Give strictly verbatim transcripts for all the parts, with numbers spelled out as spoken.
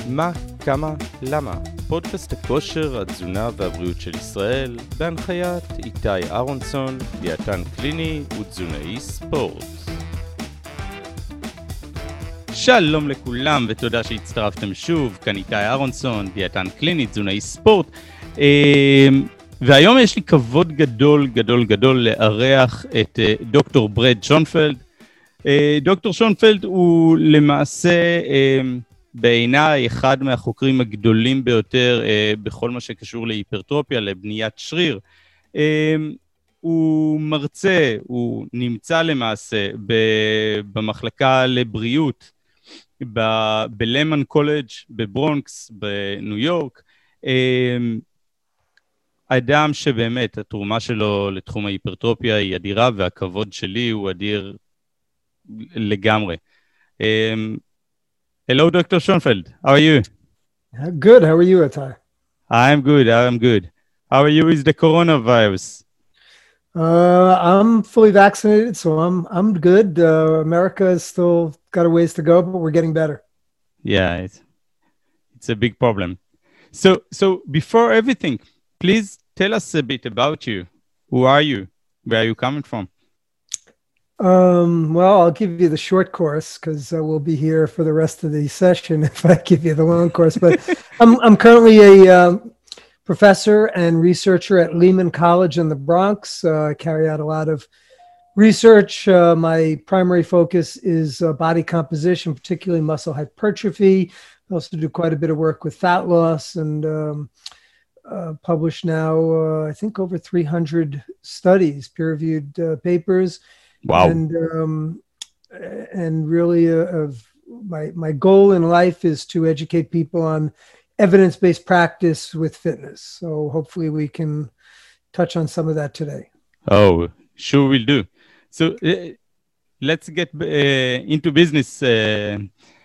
מה, כמה, למה? פודקאסט הכושר, התזונה והבריאות של ישראל, בהנחיית איתי אהרונסון, דיאטן קליני ותזונאי ספורט. שלום לכולם ותודה שהצטרפתם שוב, כאן איתי אהרונסון, דיאטן קליני, תזונאי ספורט. והיום יש לי כבוד גדול גדול גדול לארח את דוקטור ברד שונפלד. דוקטור שונפלד הוא למעשה בעיניי אחד מהחוקרים הגדולים ביותר בכל מה שקשור להיפרטרופיה, לבניית שריר. הוא מרצה, הוא נמצא למעשה במחלקה לבריאות בלמן קולג' בברונקס בניו יורק. אדם שבאמת התרומה שלו לתחום ההיפרטרופיה היא אדירה, והכבוד שלי הוא אדיר לגמרי. Um, hello, Doctor Schoenfeld. How are you? Good. How are you, Atai? I'm good. I'm good. How are you with the coronavirus? Uh, I'm fully vaccinated, so I'm I'm good. Uh, America has still got a ways to go, but we're getting better. Yeah, it's, it's a big problem. So, so before everything, please tell us a bit about you. Who are you? Where are you coming from? Um, well, I'll give you the short course because uh, we'll be here for the rest of the session if I give you the long course. But I'm I'm currently a um, professor and researcher at Lehman College in the Bronx. Uh, I carry out a lot of research. Uh, my primary focus is uh, body composition, particularly muscle hypertrophy. I also do quite a bit of work with fat loss and um, uh, published now, uh, I think, over three hundred studies, peer-reviewed uh, papers. Wow. And um, and really uh, of my my goal in life is to educate people on evidence-based practice with fitness. So hopefully we can touch on some of that today. Oh, sure will do. So uh, let's get uh, into business. Uh,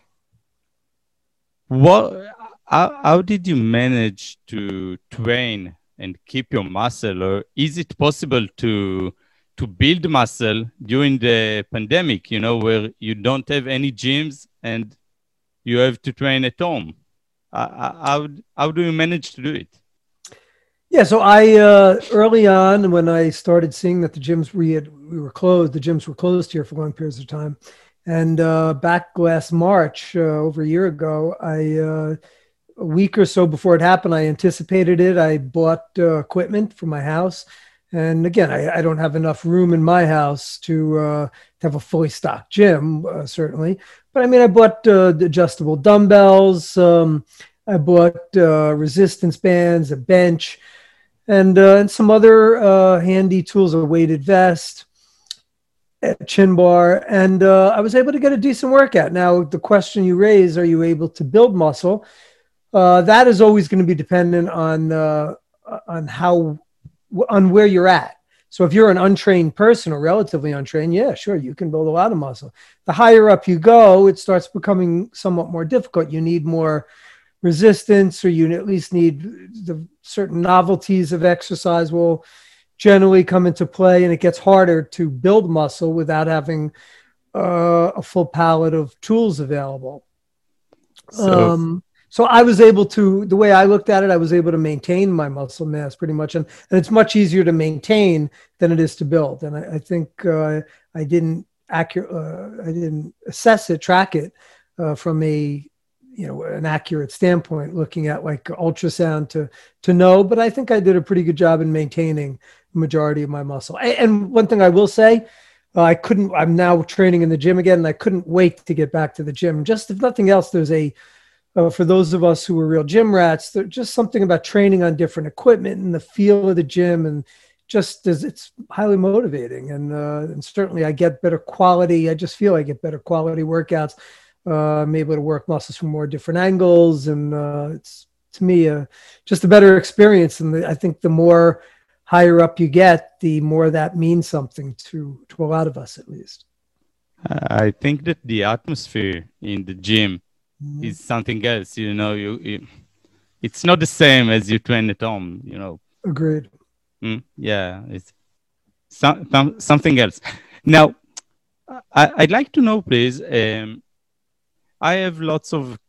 what how, how did you manage to train and keep your muscle, or is it possible to to build muscle during the pandemic, you know, where you don't have any gyms and you have to train at home? Uh, how, how do you manage to do it? Yeah, so I, uh, early on when I started seeing that the gyms we had, we were closed, the gyms were closed here for long periods of time. And uh, back last March, uh, over a year ago, I, uh, a week or so before it happened, I anticipated it. I bought uh, equipment for my house. And again, I, I don't have enough room in my house to, uh, to have a fully stocked gym, uh, certainly. But I mean, I bought uh, the adjustable dumbbells. Um, I bought uh, resistance bands, a bench, and, uh, and some other uh, handy tools, a weighted vest, a chin bar. And uh, I was able to get a decent workout. Now, the question you raise, are you able to build muscle? Uh, that is always going to be dependent on uh, on how on where you're at. So if you're an untrained person or relatively untrained, yeah, sure, you can build a lot of muscle. The higher up you go, it starts becoming somewhat more difficult. You need more resistance, or you at least need the certain novelties of exercise will generally come into play, and it gets harder to build muscle without having uh, a full palette of tools available. So- um, So I was able to, the way I looked at it, I was able to maintain my muscle mass pretty much. And, and it's much easier to maintain than it is to build. And I, I think uh, I didn't accurate, uh, I didn't assess it, track it uh, from a, you know, an accurate standpoint, looking at like ultrasound to, to know. But I think I did a pretty good job in maintaining the majority of my muscle. And, and one thing I will say, uh, I couldn't, I'm now training in the gym again, and I couldn't wait to get back to the gym. Just if nothing else, there's a, Uh, for those of us who are real gym rats, there's just something about training on different equipment and the feel of the gym, and just as it's highly motivating. And, uh, and certainly I get better quality. I just feel I get better quality workouts. Uh, I'm able to work muscles from more different angles. And uh, it's, to me, uh, just a better experience. And the, I think the more higher up you get, the more that means something to, to a lot of us, at least. I think that the atmosphere in the gym is something else, you know, you, you it's not the same as you train at home, you know. Agreed. Mm, yeah, it's some, some, something else. Now, I, I'd like to know, please, um, I have lots of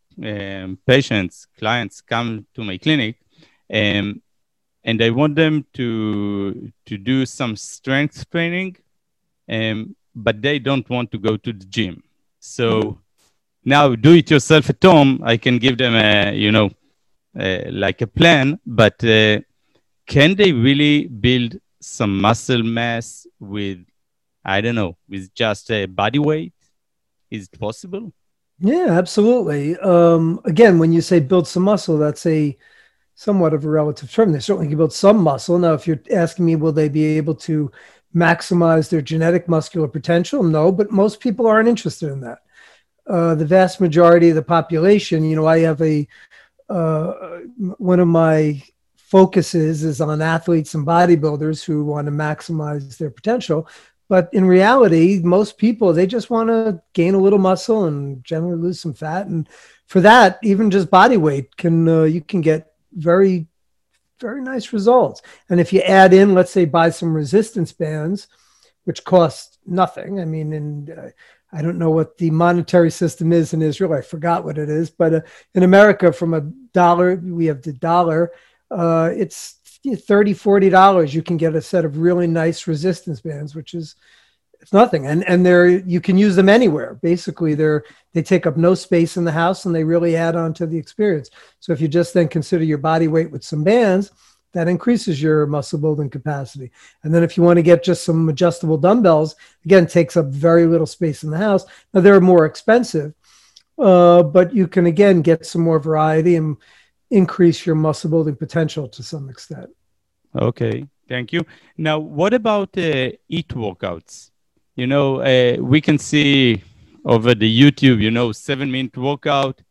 um, patients, clients come to my clinic, um, and I want them to to do some strength training, um, but they don't want to go to the gym. So mm-hmm. now, do it yourself at home. I can give them a, you know, uh, like a plan, but uh, can they really build some muscle mass with, I don't know, with just a body weight? Is it possible? Yeah, absolutely. Um, again, when you say build some muscle, that's a somewhat of a relative term. They certainly can build some muscle. Now, if you're asking me, will they be able to maximize their genetic muscular potential? No, but most people aren't interested in that. Uh, the vast majority of the population, you know, I have a, uh, one of my focuses is on athletes and bodybuilders who want to maximize their potential. But in reality, most people, they just want to gain a little muscle and generally lose some fat. And for that, even just body weight can, uh, you can get very, very nice results. And if you add in, let's say, buy some resistance bands, which cost nothing. I mean, and uh, I don't know what the monetary system is in Israel. I forgot what it is. But uh, in America, from a dollar, we have the dollar. Uh, it's thirty dollars, forty dollars. You can get a set of really nice resistance bands, which is it's nothing. And and they're you can use them anywhere. Basically, they're they take up no space in the house and they really add on to the experience. So if you just then consider your body weight with some bands, that increases your muscle building capacity. And then if you want to get just some adjustable dumbbells, again, takes up very little space in the house. Now they're more expensive, uh, but you can again get some more variety and increase your muscle building potential to some extent. Okay, thank you. Now, what about uh, eat workouts? You know, uh, we can see over the YouTube, you know, seven minute workout.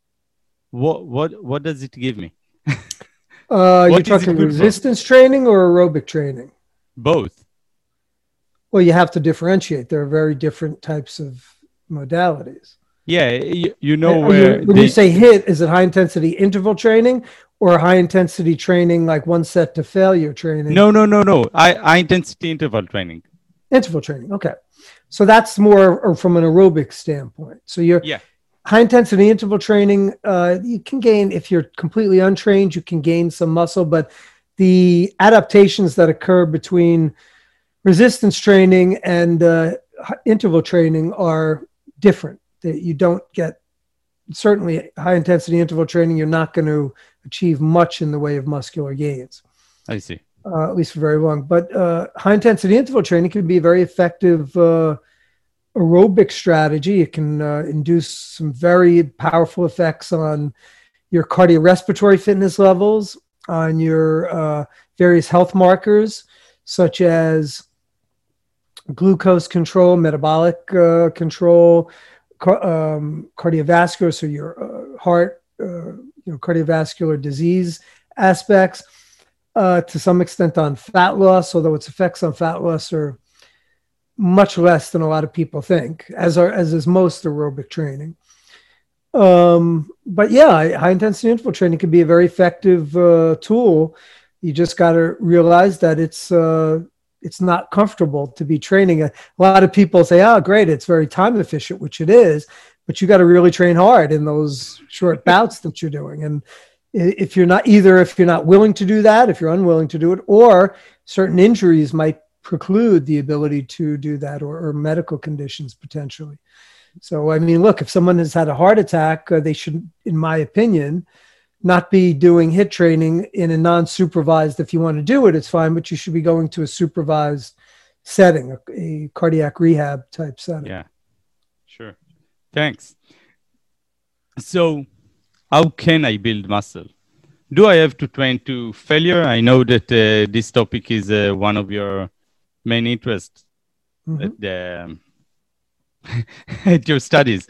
What what what does it give me? Uh, you're talking resistance for? training or aerobic training? Both. Well, you have to differentiate. There are very different types of modalities. Yeah, you, you know Are where you, when the, you say HIIT, is it high intensity interval training or high intensity training like one set to failure training? No, no, no, no. I, high intensity interval training. Interval training. Okay. So that's more from an aerobic standpoint. So you're yeah. high intensity interval training, uh, you can gain, if you're completely untrained, you can gain some muscle, but the adaptations that occur between resistance training and uh, interval training are different. That you don't get, certainly high intensity interval training, you're not going to achieve much in the way of muscular gains. I see. Uh, at least for very long. But uh, high intensity interval training can be a very effective uh, aerobic strategy. It can uh, induce some very powerful effects on your cardiorespiratory fitness levels, on your uh, various health markers, such as glucose control, metabolic uh, control, car- um, cardiovascular, so your uh, heart, uh, you know, cardiovascular disease aspects, uh, to some extent on fat loss, although its effects on fat loss are much less than a lot of people think, as are as is most aerobic training. Um, but yeah, high intensity interval training can be a very effective uh, tool. You just got to realize that it's uh, it's not comfortable to be training. A, a lot of people say, "Oh, great, it's very time efficient," which it is, but you got to really train hard in those short bouts that you're doing. And if you're not either, if you're not willing to do that, if you're unwilling to do it, or certain injuries might preclude the ability to do that, or, or medical conditions potentially. So, I mean, look, if someone has had a heart attack, uh, they should, in my opinion, not be doing HIIT training in a non-supervised. If you want to do it, it's fine, but you should be going to a supervised setting, a, a cardiac rehab type setting. Yeah, sure. Thanks. So how can I build muscle? Do I have to train to failure? I know that uh, this topic is uh, one of your main interests mm-hmm. at, the, at your studies.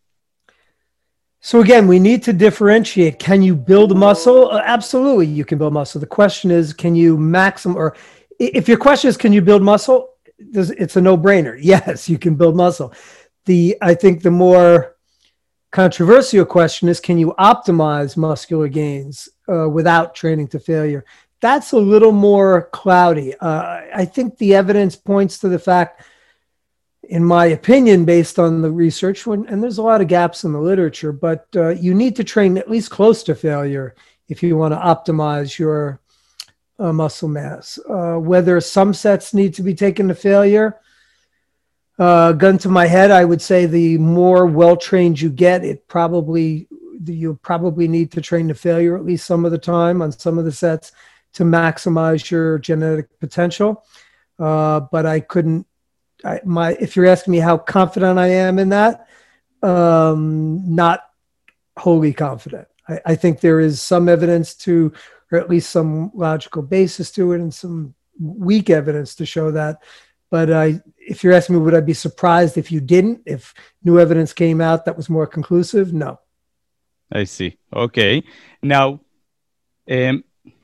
So again, we need to differentiate. Can you build muscle? Uh, absolutely, you can build muscle. The question is, can you maximum, or if your question is, can you build muscle? It's a no-brainer. Yes, you can build muscle. The I think the more controversial question is, can you optimize muscular gains uh, without training to failure? That's a little more cloudy. Uh, I think the evidence points to the fact, in my opinion, based on the research, when, and there's a lot of gaps in the literature, but uh, you need to train at least close to failure if you want to optimize your uh, muscle mass. Uh, whether some sets need to be taken to failure, uh, gun to my head, I would say the more well-trained you get, it probably, you probably need to train to failure at least some of the time on some of the sets to maximize your genetic potential. Uh, but I couldn't, I, my, if you're asking me how confident I am in that, um, not wholly confident. I, I think there is some evidence to, or at least some logical basis to it, and some weak evidence to show that. But I, if you're asking me, would I be surprised if you didn't, if new evidence came out that was more conclusive? No. I see. Okay. Now, um,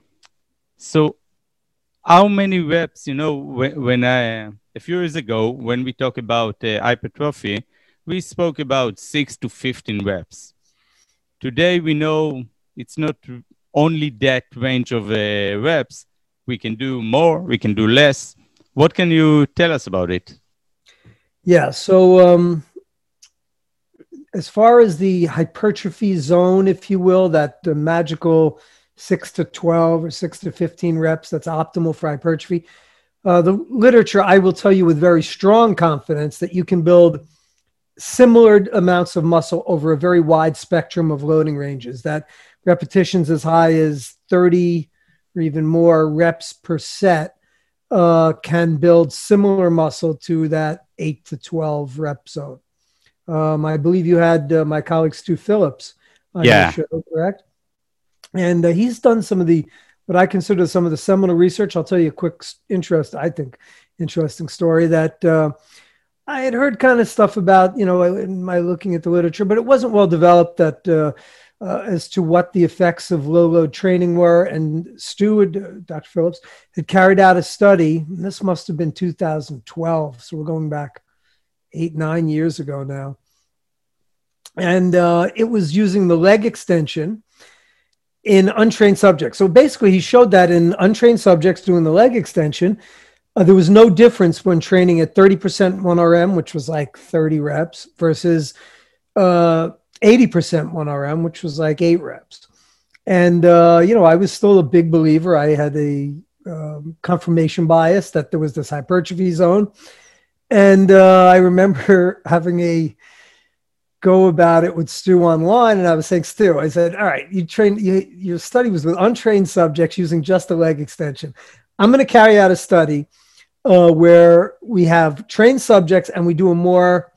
so how many reps, you know, when, when I, a few years ago, when we talk about uh, hypertrophy, we spoke about six to fifteen reps. Today, we know it's not only that range of uh, reps. We can do more, we can do less. What can you tell us about it? Yeah, so um, as far as the hypertrophy zone, if you will, that uh, magical six to twelve or six to fifteen reps, that's optimal for hypertrophy. Uh, the literature, I will tell you with very strong confidence that you can build similar amounts of muscle over a very wide spectrum of loading ranges, that repetitions as high as thirty or even more reps per set uh, can build similar muscle to that eight to twelve rep zone. Um, I believe you had uh, my colleague Stu Phillips on Yeah. your show, correct? And uh, he's done some of the, what I consider some of the seminal research. I'll tell you a quick interest, I think, interesting story that uh, I had heard kind of stuff about, you know, in my looking at the literature, but it wasn't well developed that uh, uh, as to what the effects of low load training were. And Stu, had, uh, Doctor Phillips, had carried out a study, and this must have been two thousand twelve. So we're going back eight, nine years ago now. And uh, it was using the leg extension in untrained subjects. So basically he showed that in untrained subjects doing the leg extension, uh, there was no difference when training at thirty percent one R M, which was like thirty reps, versus uh, eighty percent one R M, which was like eight reps. And, uh, you know, I was still a big believer. I had a um, confirmation bias that there was this hypertrophy zone. And uh, I remember having a go about it with Stu online, and I was saying, Stu, I said, all right, you train, you, your study was with untrained subjects using just a leg extension. I'm going to carry out a study uh, where we have trained subjects and we do a more,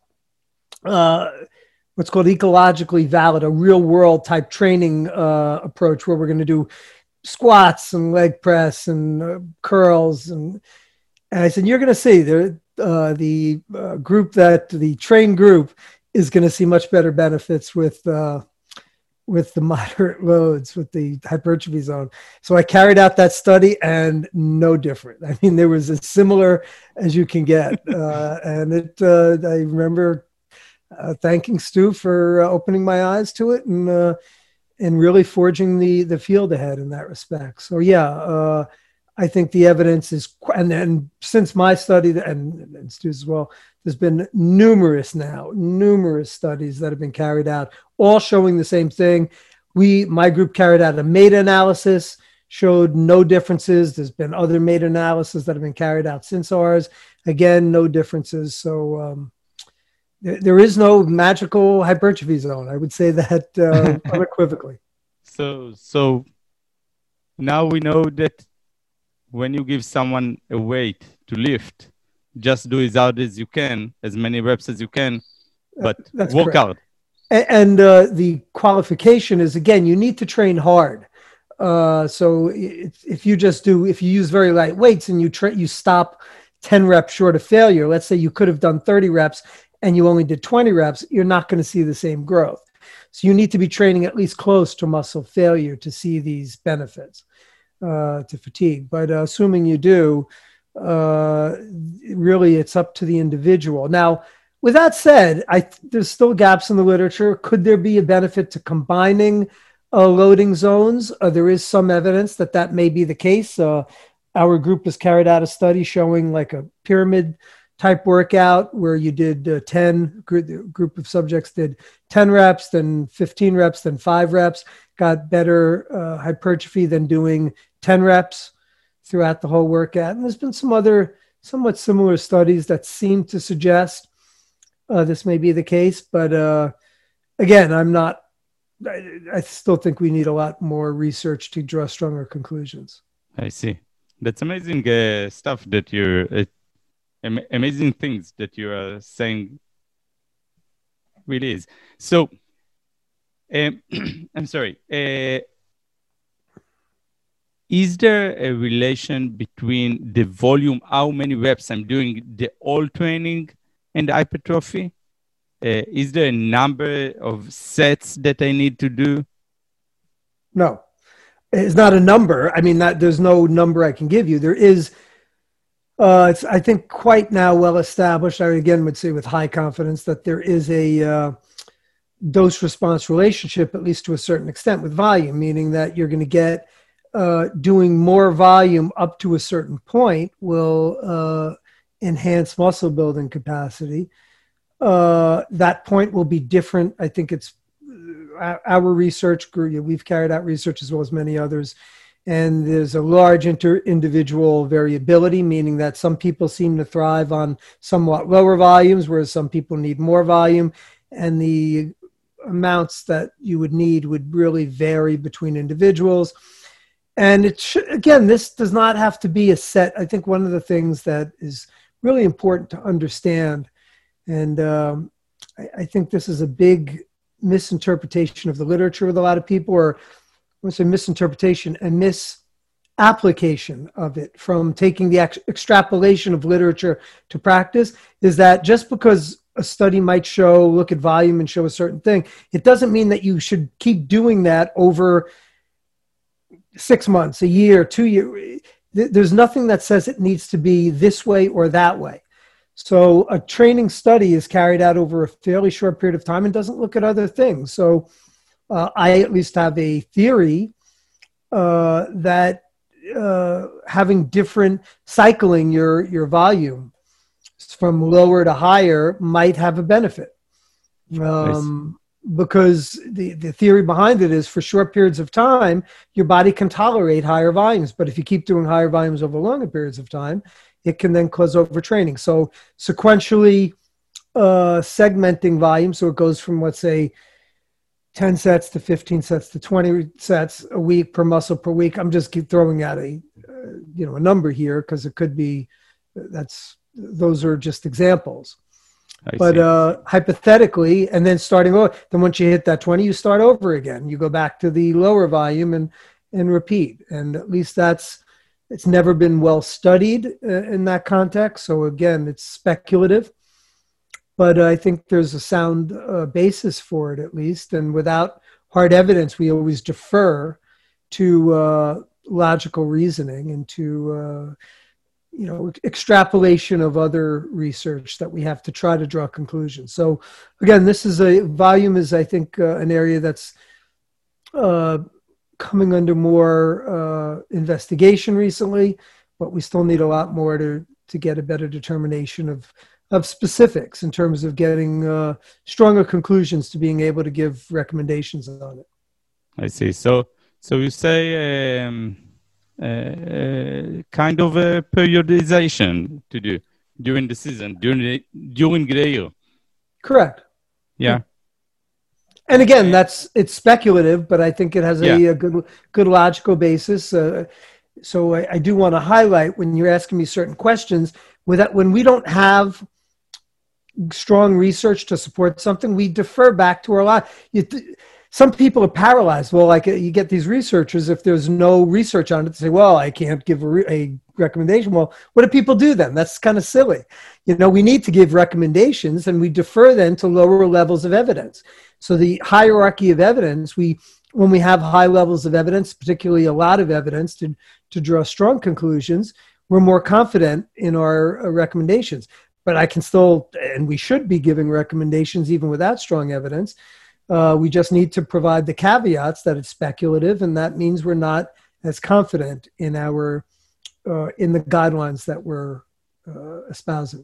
uh, what's called ecologically valid, a real world type training uh, approach, where we're going to do squats and leg press and uh, curls. And, and I said, you're going to see there, uh, the uh, group that the trained group is going to see much better benefits with uh, with the moderate loads, with the hypertrophy zone. So I carried out that study, and no different. I mean, there was as similar as you can get. Uh, and it, uh, I remember uh, thanking Stu for uh, opening my eyes to it, and uh, and really forging the the field ahead in that respect. So yeah, uh, I think the evidence is, and then since my study, and, and Stu's as well, there's been numerous now, numerous studies that have been carried out, all showing the same thing. We, my group carried out a meta-analysis, showed no differences. There's been other meta-analyses that have been carried out since ours. Again, no differences. So um, there, there is no magical hypertrophy zone. I would say that uh, unequivocally. So, so now we know that when you give someone a weight to lift, just do as hard as you can, as many reps as you can, but That's work correct. out. And uh, the qualification is, again, you need to train hard. Uh, so if, if you just do, if you use very light weights and you tra- you stop ten reps short of failure, let's say you could have done thirty reps and you only did twenty reps, you're not going to see the same growth. So you need to be training at least close to muscle failure to see these benefits uh, to fatigue. But uh, assuming you do, uh, really it's up to the individual. Now, with that said, I, there's still gaps in the literature. Could there be a benefit to combining uh, loading zones? Uh, there is some evidence that that may be the case. Uh, our group has carried out a study showing like a pyramid type workout where you did uh, ten, group, group of subjects did ten reps, then fifteen reps, then five reps, got better uh, hypertrophy than doing ten reps throughout the whole workout. And there's been some other somewhat similar studies that seem to suggest uh, this may be the case. But uh, again, I'm not, I, I still think we need a lot more research to draw stronger conclusions. I see. That's amazing uh, stuff that you're, uh, am- amazing things that you are saying. Really is. So, um, I'm sorry. Uh, is there a relation between the volume, how many reps I'm doing, the all training and hypertrophy? Uh, is there a number of sets that I need to do? No. It's not a number. I mean, that there's no number I can give you. There is, uh, it's, I think, quite now well established. I again would say with high confidence that there is a uh, dose response relationship, at least to a certain extent, with volume, meaning that you're going to get uh, doing more volume up to a certain point will uh, enhance muscle building capacity. Uh, that point will be different. I think it's our research group, we've carried out research as well as many others, and there's a large inter individual variability, meaning that some people seem to thrive on somewhat lower volumes, whereas some people need more volume, and the amounts that you would need would really vary between individuals. And it should, again, this does not have to be a set. I think one of the things that is really important to understand, and um, I, I think this is a big misinterpretation of the literature with a lot of people, or I want to say misinterpretation and misapplication of it from taking the ex extrapolation of literature to practice, is that just because a study might show, look at volume and show a certain thing, it doesn't mean that you should keep doing that over six months, a year, two years. There's nothing that says it needs to be this way or that way. So a training study is carried out over a fairly short period of time and doesn't look at other things. So uh, I at least have a theory uh, that uh, having different cycling your, your volume from lower to higher might have a benefit. Um, nice. Because the, the theory behind it is for short periods of time, your body can tolerate higher volumes. But if you keep doing higher volumes over longer periods of time, it can then cause overtraining. So sequentially uh, segmenting volume, so it goes from, let's say, ten sets to fifteen sets to twenty sets a week per muscle per week. I'm just keep throwing out a, uh, you know, a number here because it could be, that's, those are just examples. I but uh, hypothetically, and then starting over, then once you hit that twenty, you start over again. You go back to the lower volume and, and repeat. And at least that's, it's never been well studied uh, in that context. So again, it's speculative, but I think there's a sound uh, basis for it at least. And without hard evidence, we always defer to uh, logical reasoning and to, uh, you know, extrapolation of other research that we have to try to draw conclusions. So again, this is a volume is, I think, uh, an area that's uh, coming under more uh, investigation recently, but we still need a lot more to, to get a better determination of, of specifics in terms of getting uh, stronger conclusions to being able to give recommendations on it. I see. So, so you say um, uh, kind of a periodization to do during the season, during the, during the year. Correct. Yeah. And again, that's, it's speculative, but I think it has a, yeah. a good, good logical basis. Uh, so I, I do want to highlight when you're asking me certain questions, with that, when we don't have strong research to support something, we defer back to our lot. You Some people are paralyzed. Well, like you get these researchers, if there's no research on it, they say, well, I can't give a, re a recommendation. Well, what do people do then? That's kind of silly. You know, we need to give recommendations and we defer then to lower levels of evidence. So the hierarchy of evidence, we, when we have high levels of evidence, particularly a lot of evidence to, to draw strong conclusions, we're more confident in our uh, recommendations. But I can still, and we should be giving recommendations even without strong evidence. Uh, we just need to provide the caveats that it's speculative, and that means we're not as confident in our uh, in the guidelines that we're uh, espousing.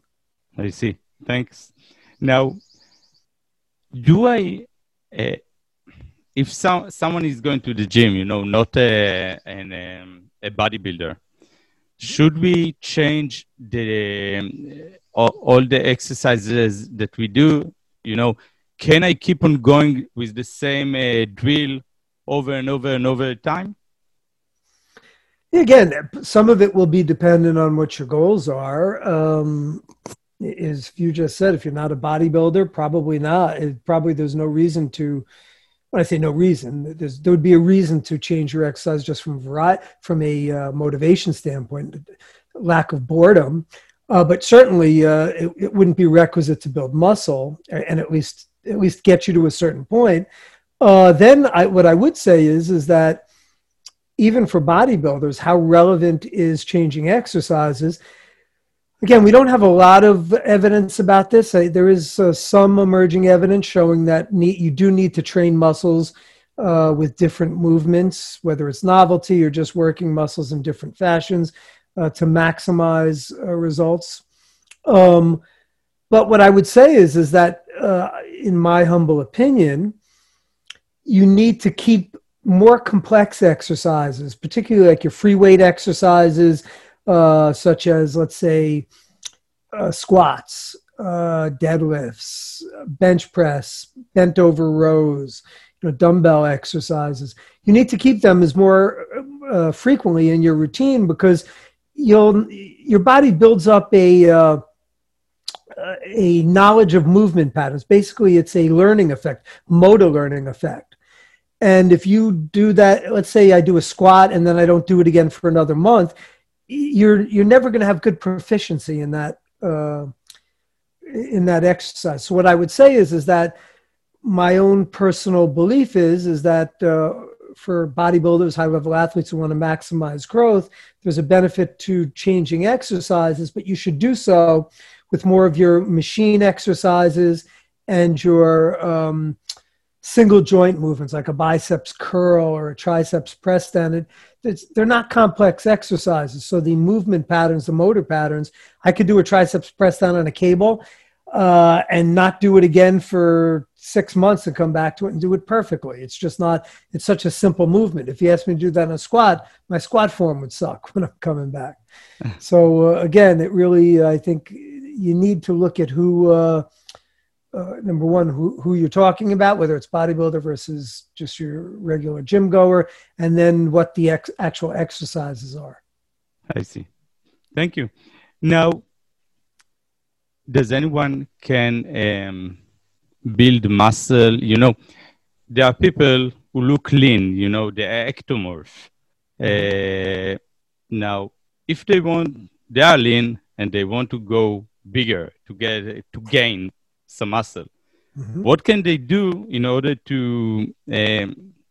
I see. Thanks. Now, do I, uh, if some, someone is going to the gym, you know, not a, an, um, a bodybuilder, should we change the um, all, all the exercises that we do? You know, can I keep on going with the same uh, drill over and over and over time? Again, some of it will be dependent on what your goals are. Um, as you just said, if you're not a bodybuilder, probably not. It, probably there's no reason to. When I say no reason, there's, there would be a reason to change your exercise just from variety, from a uh, motivation standpoint, lack of boredom. Uh, but certainly, uh, it, it wouldn't be requisite to build muscle, and at least at least get you to a certain point. Uh, then, I, what I would say is is that even for bodybuilders, how relevant is changing exercises? Again, we don't have a lot of evidence about this. There is uh, some emerging evidence showing that need, you do need to train muscles uh, with different movements, whether it's novelty or just working muscles in different fashions uh, to maximize uh, results. Um, but what I would say is, is that, uh, in my humble opinion, you need to keep more complex exercises, particularly like your free weight exercises, Uh, such as, let's say, uh, squats, uh, deadlifts, bench press, bent over rows, you know, dumbbell exercises. You need to keep them as more uh, frequently in your routine, because you'll your body builds up a uh, a knowledge of movement patterns. Basically, it's a learning effect, motor learning effect. And if you do that, let's say I do a squat and then I don't do it again for another month, you're you're never going to have good proficiency in that uh, in that exercise. So what I would say is is that my own personal belief is is that uh, for bodybuilders, high level athletes who want to maximize growth, there's a benefit to changing exercises, but you should do so with more of your machine exercises and your um, single joint movements, like a biceps curl or a triceps press down. It's, they're not complex exercises. So the movement patterns, the motor patterns, I could do a triceps press down on a cable uh, and not do it again for six months and come back to it and do it perfectly. It's just not, it's such a simple movement. If you asked me to do that in a squat, my squat form would suck when I'm coming back. So uh, again, it really, I think you need to look at who, uh, Uh, number one, who, who you're talking about, whether it's bodybuilder versus just your regular gym goer, and then what the ex- actual exercises are. I see. Thank you. Now, does anyone can um, build muscle? You know, there are people who look lean, you know, the ectomorph. Uh, now, if they want, they are lean and they want to go bigger to get to gain some muscle. Mm-hmm. What can they do in order to um,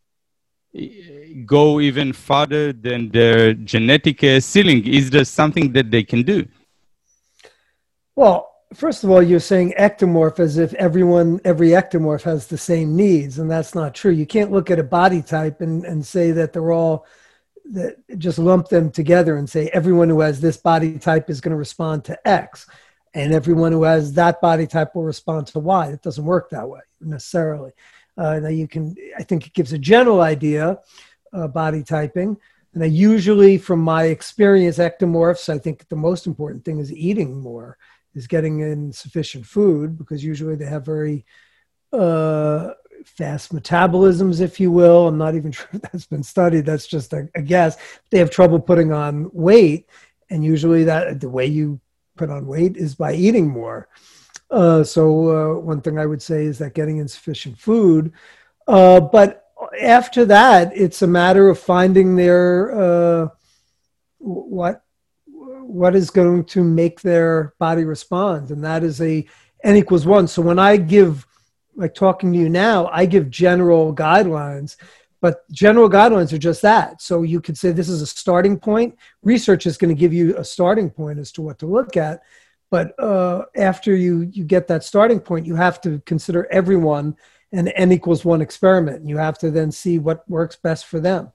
go even farther than their genetic uh, ceiling? Is there something that they can do? Well, first of all, you're saying ectomorph as if everyone, every ectomorph has the same needs, and that's not true. You can't look at a body type and, and say that they're all, that just lump them together and say everyone who has this body type is going to respond to X. And everyone who has that body type will respond to Y. It doesn't work that way necessarily. Uh, now you can, I think it gives a general idea, uh, body typing. And I usually, from my experience, ectomorphs, I think the most important thing is eating more, is getting in sufficient food, because usually they have very uh, fast metabolisms, if you will. I'm not even sure if that's been studied. That's just a, a guess. They have trouble putting on weight. And usually that the way you put on weight is by eating more. Uh, so uh, one thing I would say is that getting insufficient food. Uh, but after that, it's a matter of finding their uh, what what is going to make their body respond, and that is a n equals one. So when I give, like talking to you now, I give general guidelines. But general guidelines are just that. So you could say this is a starting point. Research is going to give you a starting point as to what to look at. But uh, after you, you get that starting point, you have to consider everyone an n equals one experiment. You have to then see what works best for them.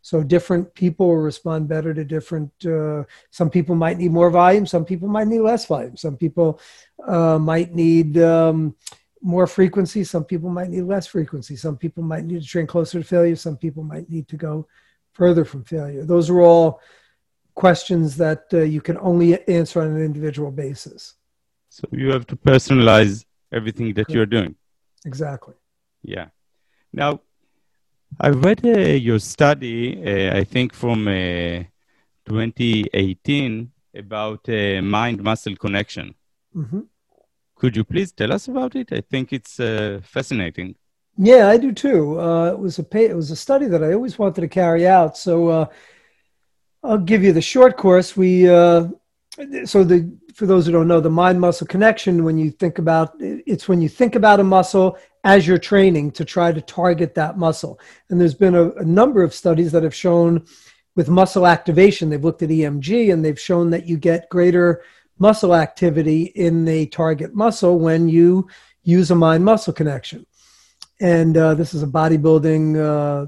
So different people will respond better to different, uh, some people might need more volume, some people might need less volume, some people uh, might need um, more frequency, some people might need less frequency, some people might need to train closer to failure, some people might need to go further from failure. Those are all questions that uh, you can only answer on an individual basis. So you have to personalize everything that you're doing. Exactly. Yeah. Now, I read uh, your study, uh, I think from uh, twenty eighteen, about uh, mind-muscle connection. Mm-hmm. Could you please tell us about it? I think it's uh, fascinating. Yeah, I do too. Uh, it was a pay, it was a study that I always wanted to carry out. So uh, I'll give you the short course. We uh, so the for those who don't know, the mind-muscle connection. When you think about it's when you think about a muscle as you're training to try to target that muscle. And there's been a, a number of studies that have shown with muscle activation. They've looked at E M G and they've shown that you get greater muscle activity in the target muscle when you use a mind-muscle connection. And uh, this is a bodybuilding uh,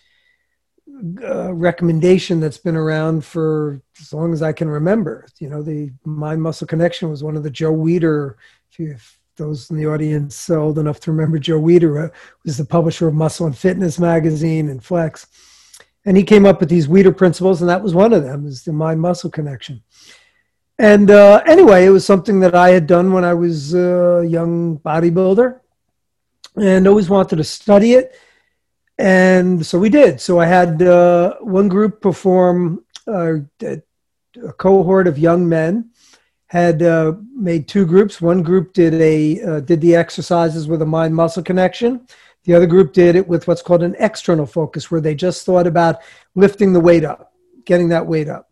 uh, recommendation that's been around for as long as I can remember. You know, the mind-muscle connection was one of the Joe Weider, if, you, if those in the audience old enough to remember Joe Weider, uh, was the publisher of Muscle and Fitness magazine and Flex. And he came up with these Weider principles, and that was one of them, is the mind-muscle connection. And uh, anyway, it was something that I had done when I was a young bodybuilder and always wanted to study it. And so we did. So I had uh, one group perform, uh, a cohort of young men had uh, made two groups. One group did a uh, did the exercises with a mind-muscle connection. The other group did it with what's called an external focus, where they just thought about lifting the weight up, getting that weight up.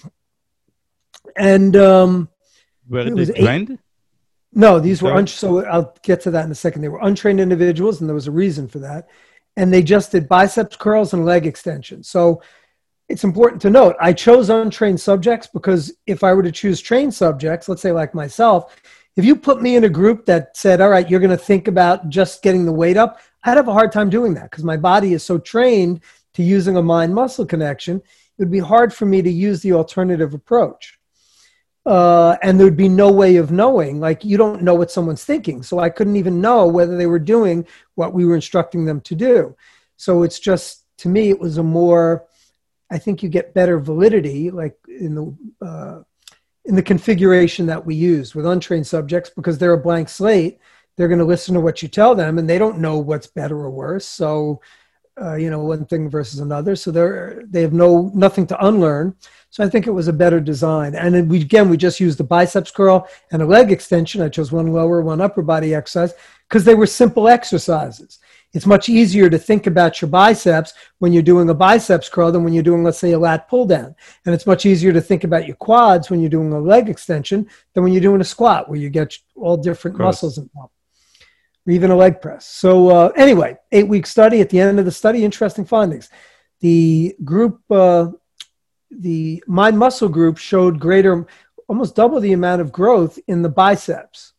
And um, were they trained? No, these were un- so I'll get to that in a second. They were untrained individuals, and there was a reason for that. And they just did biceps curls and leg extensions. So it's important to note, I chose untrained subjects because if I were to choose trained subjects, let's say like myself, if you put me in a group that said, all right, you're going to think about just getting the weight up, I'd have a hard time doing that because my body is so trained to using a mind-muscle connection. It would be hard for me to use the alternative approach. Uh, and there would be no way of knowing, like you don't know what someone's thinking. So I couldn't even know whether they were doing what we were instructing them to do. So it's just, to me, it was a more, I think you get better validity, like in the, uh, in the configuration that we use with untrained subjects, because they're a blank slate. They're going to listen to what you tell them and they don't know what's better or worse. So, uh, you know, one thing versus another. So they're, they have no, nothing to unlearn. So I think it was a better design. And then we, again, we just used the biceps curl and a leg extension. I chose one lower, one upper body exercise because they were simple exercises. It's much easier to think about your biceps when you're doing a biceps curl than when you're doing, let's say, a lat pull down. And it's much easier to think about your quads when you're doing a leg extension than when you're doing a squat, where you get all different muscles involved, or even a leg press. So uh, anyway, eight-week study. At the end of the study, interesting findings. The group... Uh, the mind muscle group showed greater, almost double the amount of growth in the biceps.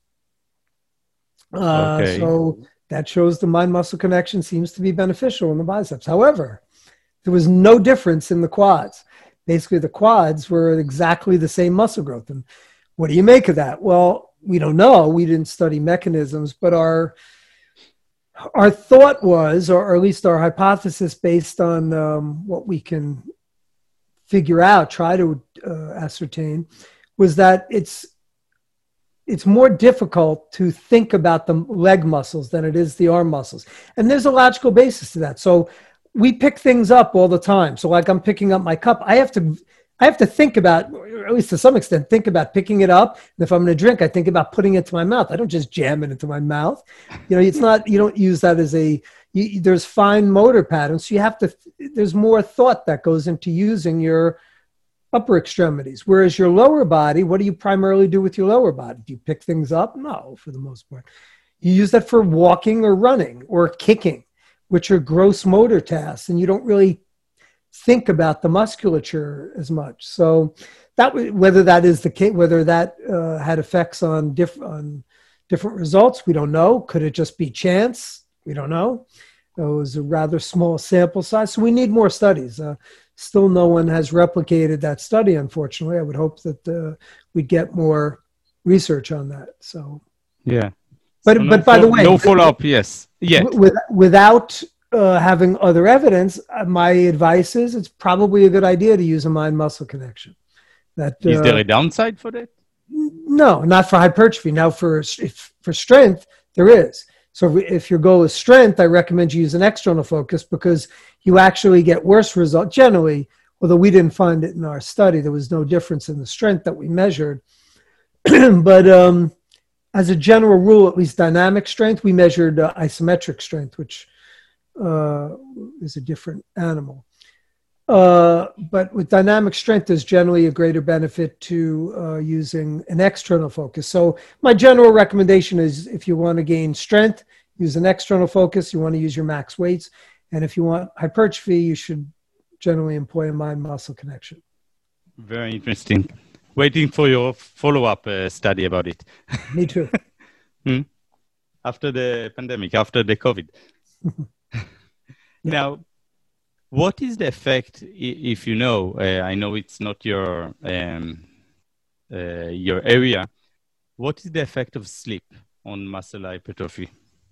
Uh, okay. So that shows the mind muscle connection seems to be beneficial in the biceps. However, there was no difference in the quads. Basically, the quads were exactly the same muscle growth. And what do you make of that? Well, we don't know. We didn't study mechanisms, but our our thought was, or at least our hypothesis based on um, what we can figure out, try to uh, ascertain, was that it's it's more difficult to think about the leg muscles than it is the arm muscles. And there's a logical basis to that. So we pick things up all the time. So like I'm picking up my cup, I have to I have to think about, or at least to some extent, think about picking it up. And if I'm going to drink, I think about putting it to my mouth. I don't just jam it into my mouth. You know, it's not, you don't use that as a, you, there's fine motor patterns. So you have to, there's more thought that goes into using your upper extremities. Whereas your lower body, what do you primarily do with your lower body? Do you pick things up? No, for the most part. You use that for walking or running or kicking, which are gross motor tasks. And you don't really think about the musculature as much. So that, whether that is the case, whether that uh, had effects on, diff- on different results, we don't know. Could it just be chance? We don't know. It was a rather small sample size, so we need more studies. Uh, still, no one has replicated that study, unfortunately. I would hope that uh, we'd get more research on that. So, yeah. but So no but by fo- the way, no follow-up, yes. Yet. w- with, without uh, having other evidence, uh, my advice is it's probably a good idea to use a mind-muscle connection. That Is there uh, a downside for that? no, not for hypertrophy. Now, for if, for strength, there is. So if your goal is strength, I recommend you use an external focus because you actually get worse results generally. Although we didn't find it in our study, there was no difference in the strength that we measured. But um, as a general rule, at least dynamic strength, we measured uh, isometric strength, which uh, is a different animal. Uh, but with dynamic strength, there's generally a greater benefit to uh, using an external focus. So my general recommendation is if you want to gain strength, use an external focus. You want to use your max weights. And if you want hypertrophy, you should generally employ a mind-muscle connection. Very interesting. Waiting for your follow-up uh, study about it. Me too. hmm? After the pandemic, after the COVID. Now, what is the effect, if you know, uh, I know it's not your, um, uh, your area, what is the effect of sleep on muscle hypertrophy?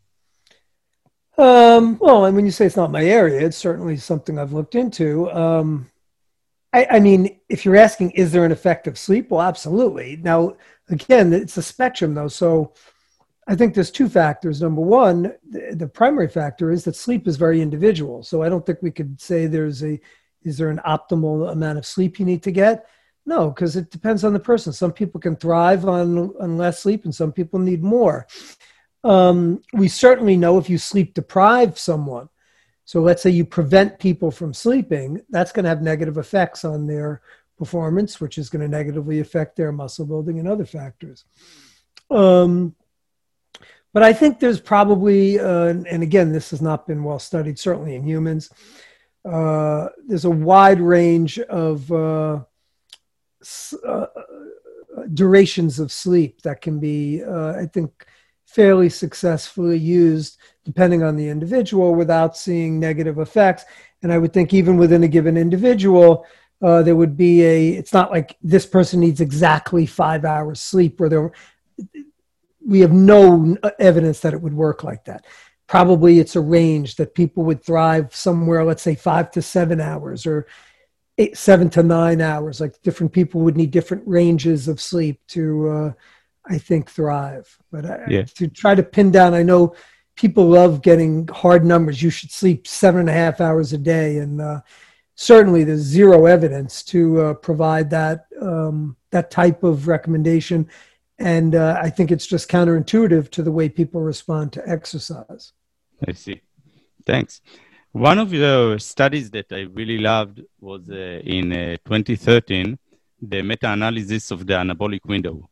Um, well, and when you say it's not my area, it's certainly something I've looked into. Um, I, I mean, if you're asking, is there an effect of sleep? Well, absolutely. Now, again, it's a spectrum though. So I think there's two factors. Number one, the, the primary factor is that sleep is very individual. So I don't think we could say there's a, is there an optimal amount of sleep you need to get? No, because it depends on the person. Some people can thrive on, on less sleep and some people need more. Um, we certainly know if you sleep deprive someone, so let's say you prevent people from sleeping, that's going to have negative effects on their performance, which is going to negatively affect their muscle building and other factors. Um, but I think there's probably, uh, and again, this has not been well studied, certainly in humans, uh, there's a wide range of uh, uh, durations of sleep that can be, uh, I think, fairly successfully used depending on the individual without seeing negative effects. And I would think even within a given individual, uh, there would be a, it's not like this person needs exactly five hours sleep where there, we have no evidence that it would work like that. Probably it's a range that people would thrive somewhere, let's say five to seven hours or eight, seven to nine hours. Like different people would need different ranges of sleep to, uh, I think, thrive. But I, yeah. to try to pin down, I know people love getting hard numbers. You should sleep seven and a half hours a day. And uh, certainly there's zero evidence to uh, provide that, um, that type of recommendation. And uh, I think it's just counterintuitive to the way people respond to exercise. I see. Thanks. One of the studies that I really loved was uh, in uh, twenty thirteen, the meta-analysis of the anabolic window.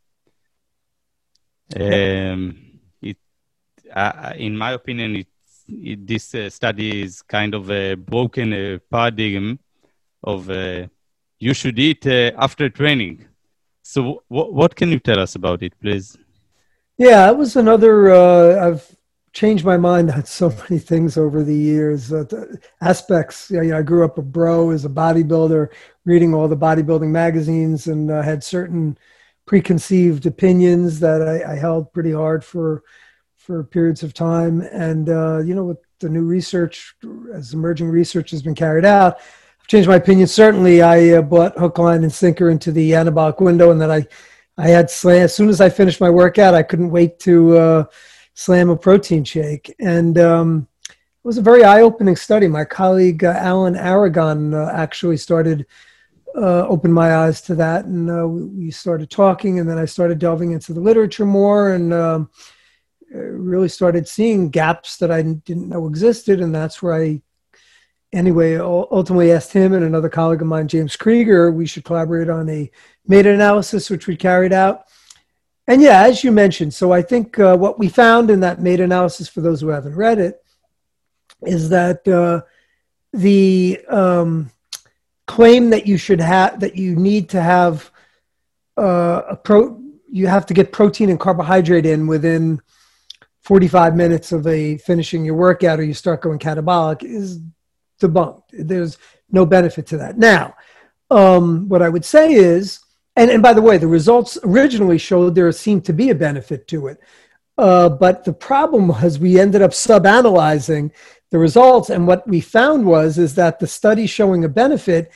Um, it, uh, in my opinion, it, it, this uh, study is kind of a broken uh, paradigm of uh, you should eat uh, after training. So w- what can you tell us about it, please? Yeah, it was another, uh, I've changed my mind on so many things over the years. Uh, the aspects, you know, I grew up a bro as a bodybuilder, reading all the bodybuilding magazines and uh, had certain preconceived opinions that I, I held pretty hard for for periods of time. And, uh, you know, with the new research, as emerging research has been carried out, I've changed my opinion. Certainly, I uh, bought hook, line, and sinker into the anabolic window, and that I, I had slam, as soon as I finished my workout, I couldn't wait to uh, slam a protein shake. And um, it was a very eye-opening study. My colleague, uh, Alan Aragon, uh, actually started Uh, opened my eyes to that, and uh, we started talking, and then I started delving into the literature more, and um, really started seeing gaps that I didn't know existed, and that's where I, anyway, ultimately asked him and another colleague of mine, James Krieger, we should collaborate on a meta-analysis, which we carried out. And yeah, as you mentioned, so I think uh, what we found in that meta-analysis, for those who haven't read it, is that uh, the um, claim that you should have, that you need to have uh, a pro, you have to get protein and carbohydrate in within forty-five minutes of a finishing your workout or you start going catabolic is debunked. There's no benefit to that. Now, um, what I would say is, and, and by the way, the results originally showed there seemed to be a benefit to it. Uh, but the problem was we ended up sub-analyzing the results. And what we found was, is that the study showing a benefit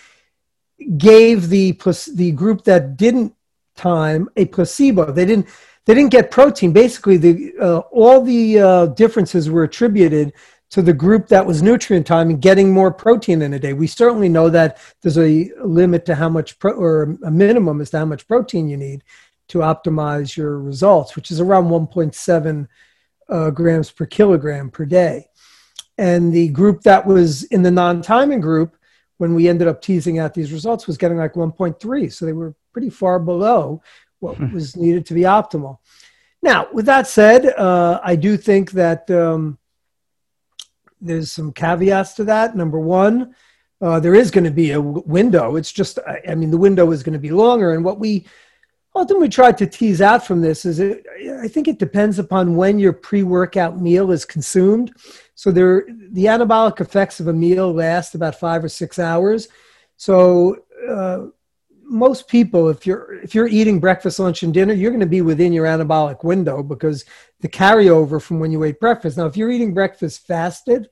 gave the, the group that didn't time a placebo. They didn't, they didn't get protein. Basically, the, uh, all the uh, differences were attributed to the group that was nutrient time and getting more protein in a day. We certainly know that there's a limit to how much, pro- or a minimum as to how much protein you need to optimize your results, which is around one point seven uh, grams per kilogram per day. And the group that was in the non-timing group, when we ended up teasing out these results, was getting like one point three. So they were pretty far below what was needed to be optimal. Now, with that said, uh, I do think that um, there's some caveats to that. Number one, uh, there is going to be a w- window. It's just, I, I mean, the window is going to be longer. And what we ultimately tried to tease out from this is it, I think it depends upon when your pre-workout meal is consumed. So there, the anabolic effects of a meal last about five or six hours. So uh, most people, if you're if you're eating breakfast, lunch, and dinner, you're going to be within your anabolic window because the carryover from when you ate breakfast. Now, if you're eating breakfast fasted,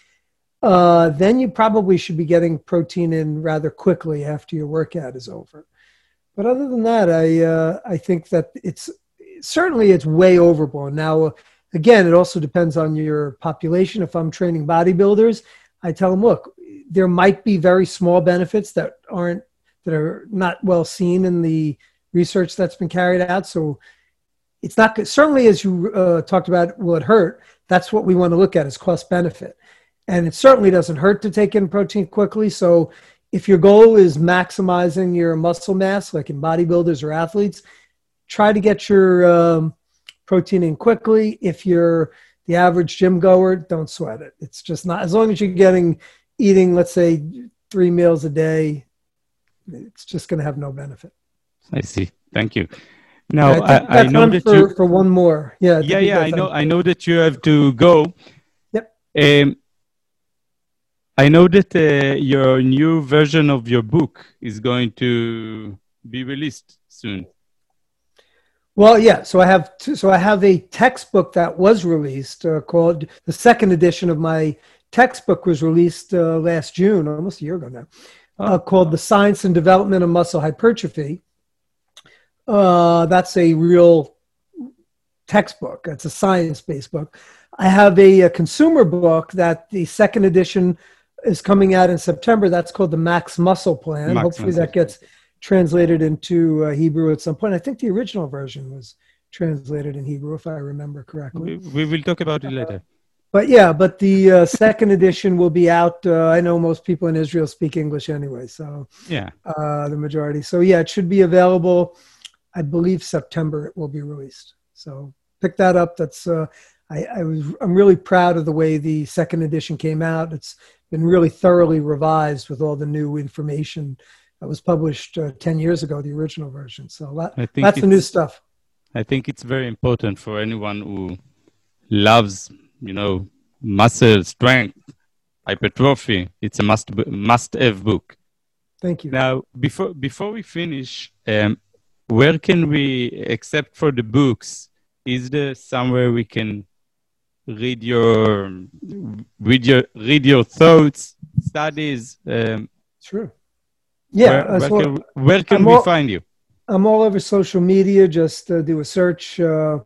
uh, then you probably should be getting protein in rather quickly after your workout is over. But other than that, I uh, I think that it's certainly it's way overblown. Now, again, it also depends on your population. If I'm training bodybuilders, I tell them, look, there might be very small benefits that aren't that are not well seen in the research that's been carried out. So it's not certainly, as you uh, talked about, will it hurt? That's what we want to look at is cost benefit, and it certainly doesn't hurt to take in protein quickly. So if your goal is maximizing your muscle mass, like in bodybuilders or athletes, try to get your um, protein in quickly. If you're the average gym goer, don't sweat it. It's just not, as long as you're getting, eating, let's say, three meals a day, it's just going to have no benefit. I see. Thank you. Now, I, I, I know that for, you... For one more. Yeah, yeah, yeah, I know, I know that you have to go. Yep. Um, I know that uh, your new version of your book is going to be released soon. Well, yeah. So I have two, so I have a textbook that was released uh, called the second edition of my textbook was released uh, last June, almost a year ago now, uh, called The Science and Development of Muscle Hypertrophy. Uh, that's a real textbook. It's a science-based book. I have a, a consumer book that the second edition is coming out in September. That's called the Max Muscle Plan. Max Hopefully Muscle. that gets translated into uh, Hebrew at some point. I think the original version was translated in Hebrew, if I remember correctly. We, we will talk about it later. Uh, but yeah, but the uh, second edition will be out. Uh, I know most people in Israel speak English anyway, so yeah, uh, the majority. So yeah, it should be available. I believe September it will be released. So pick that up. That's uh, I, I was I'm really proud of the way the second edition came out. It's been really thoroughly revised with all the new information that was published uh, ten years ago, the original version. So that, that's the new stuff. I think it's very important for anyone who loves, you know, muscle strength, hypertrophy. It's a must must have book. Thank you. Now, before before we finish, um, where can we, except for the books, is there somewhere we can read your read your read your thoughts, studies? Um, sure. Yeah. Where, where well, can, where can we all, find you? I'm all over social media. Just uh, do a search. Uh,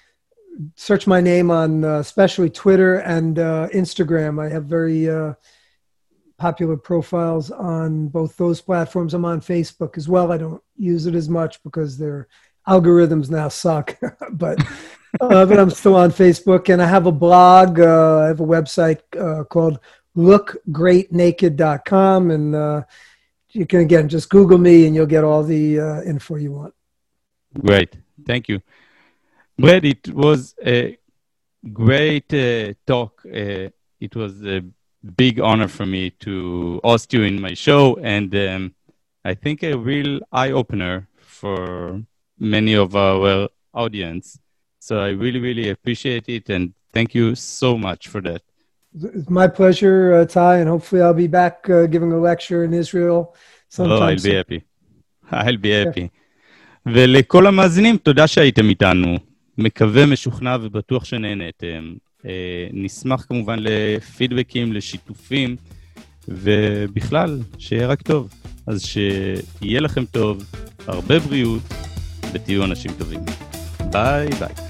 search my name on uh, especially Twitter and uh, Instagram. I have very uh, popular profiles on both those platforms. I'm on Facebook as well. I don't use it as much because their algorithms now suck, but uh, but I'm still on Facebook, and I have a blog. Uh, I have a website uh, called look great naked dot com, and uh, you can, again, just Google me and you'll get all the uh, info you want. Great. Thank you. Brad, it was a great uh, talk. Uh, it was a big honor for me to host you in my show, and um, I think a real eye-opener for many of our audience. So I really, really appreciate it. And thank you so much for that. It's my pleasure, uh, Ty, and hopefully I'll be back uh, giving a lecture in Israel sometime Oh, I'll soon. be happy. I'll be happy. ולכל המאזינים, תודה שהייתם איתנו. מקווה, משוכנע ובטוח שנהנתם. נשמח כמובן לפידבקים, לשיתופים, ובכלל, שיהיה רק טוב. אז שיהיה לכם טוב, הרבה בריאות, ותהיו אנשים טובים. ביי ביי.